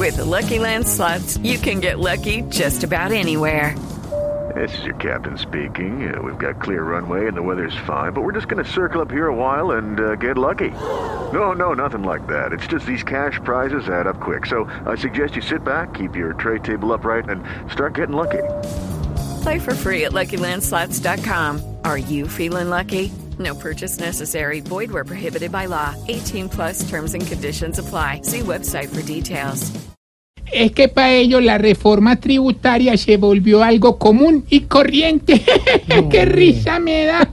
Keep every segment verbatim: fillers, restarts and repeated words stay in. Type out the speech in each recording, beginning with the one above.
With the Lucky Land Slots, you can get lucky just about anywhere. This is your captain speaking. Uh, we've got clear runway and the weather's fine, but we're just going to circle up here a while and uh, get lucky. No, no, nothing like that. It's just these cash prizes add up quick. So I suggest you sit back, keep your tray table upright, and start getting lucky. Play for free at Lucky Land Slots dot com. Are you feeling lucky? No purchase necessary. Void where prohibited by law. eighteen plus terms and conditions apply. See website for details. Es que para ellos la reforma tributaria se volvió algo común y corriente. No, ¡qué risa me da!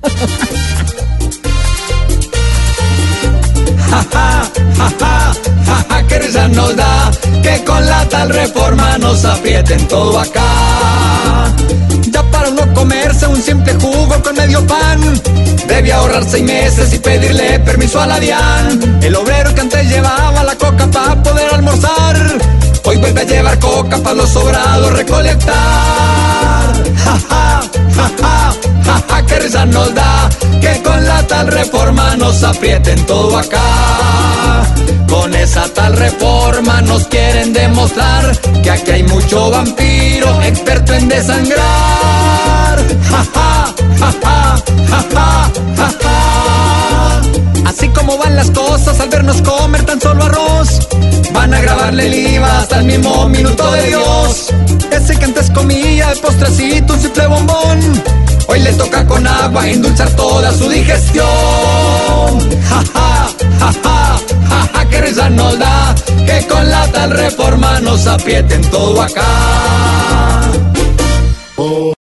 Ja, ja, ja, ja, ja, ja, qué risa nos da que con la tal reforma nos aprieten todo acá. Ya para uno comerse un simple jugo con medio pan, debe ahorrar seis meses y pedirle permiso a la DIAN. El obrero que antes llevaba la coca para poder almorzar, hoy vuelve a llevar coca para los sobrados recolectar. Ja, ja, ja, ja, ja, ja, qué risa nos da que con la tal reforma nos aprieten todo acá. Con esa tal reforma nos quieren demostrar que aquí hay mucho vampiro experto en desangrar. Ja, ja, ja, ja, ja, ja, ja, ja. Así como van las cosas al vernos comer tan solo arroz, van a grabarle el I V A hasta el mismo minuto de Dios. Ese que antes comía de postrecito un simple bombón, hoy le toca con agua endulzar toda su digestión. Ja, ja, ja, ja, ja, ja, qué risa nos da que con la tal reforma nos aprieten todo acá.